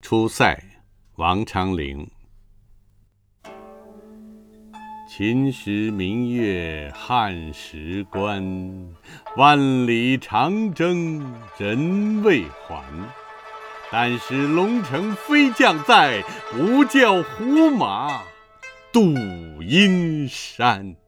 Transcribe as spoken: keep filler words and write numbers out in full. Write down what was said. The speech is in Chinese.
出塞，王昌龄。秦时明月汉时关，万里长征人未还。但使龙城飞将在，不教胡马度阴山。